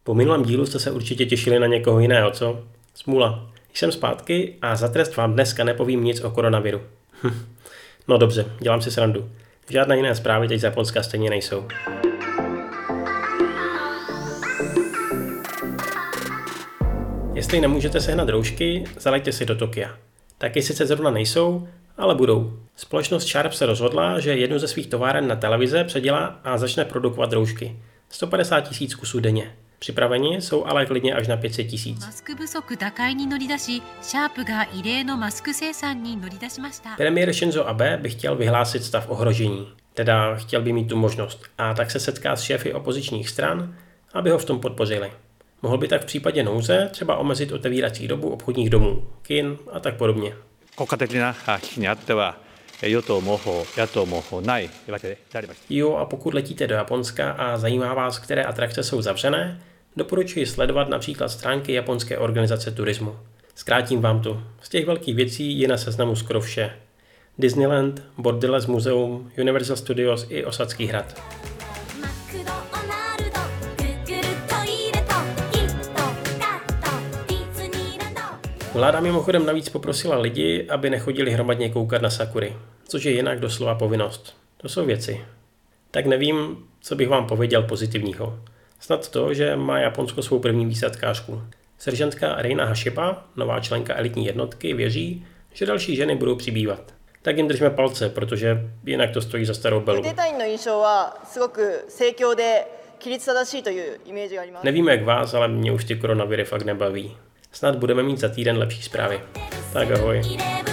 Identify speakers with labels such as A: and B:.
A: Po minulém dílu jste se určitě těšili na někoho jiného, co? Smůla. Jsem zpátky a za trest vám dneska nepovím nic o koronaviru. No dobře, dělám si srandu. Žádné jiné zprávy teď z Japonska stejně nejsou. Jestli nemůžete sehnat roušky, zaleďte si do Tokia. Taky sice zrovna nejsou, ale budou. Společnost Sharp se rozhodla, že jednu ze svých továren na televize předělá a začne produkovat roušky. 150 000 kusů denně. Připraveni jsou ale klidně až na 500 000. Premiér Shinzo Abe by chtěl vyhlásit stav ohrožení. Teda chtěl by mít tu možnost. A tak se setká s šéfy opozičních stran, aby ho v tom podpořili. Mohl by tak v případě nouze třeba omezit otevírací dobu obchodních domů, kin a tak podobně. Jo, a pokud letíte do Japonska a zajímá vás, které atrakce jsou zavřené, doporučuji sledovat například stránky japonské organizace turismu. Zkrátím vám to. Z těch velkých věcí je na seznamu skoro vše. Disneyland, Borderless muzeum, Universal Studios i Osadský hrad. Vláda mimochodem navíc poprosila lidi, aby nechodili hromadně koukat na sakury, což je jinak doslova povinnost. To jsou věci. Tak nevím, co bych vám pověděl pozitivního. Snad to, že má Japonsko svou první výsadkářku. Seržantka Reina Hashiba, nová členka elitní jednotky, věří, že další ženy budou přibývat. Tak jim držme palce, protože jinak to stojí za starou belu. Nevím jak vás, ale mě už ty koronaviry fakt nebaví. Snad budeme mít za týden lepší zprávy. Tak ahoj.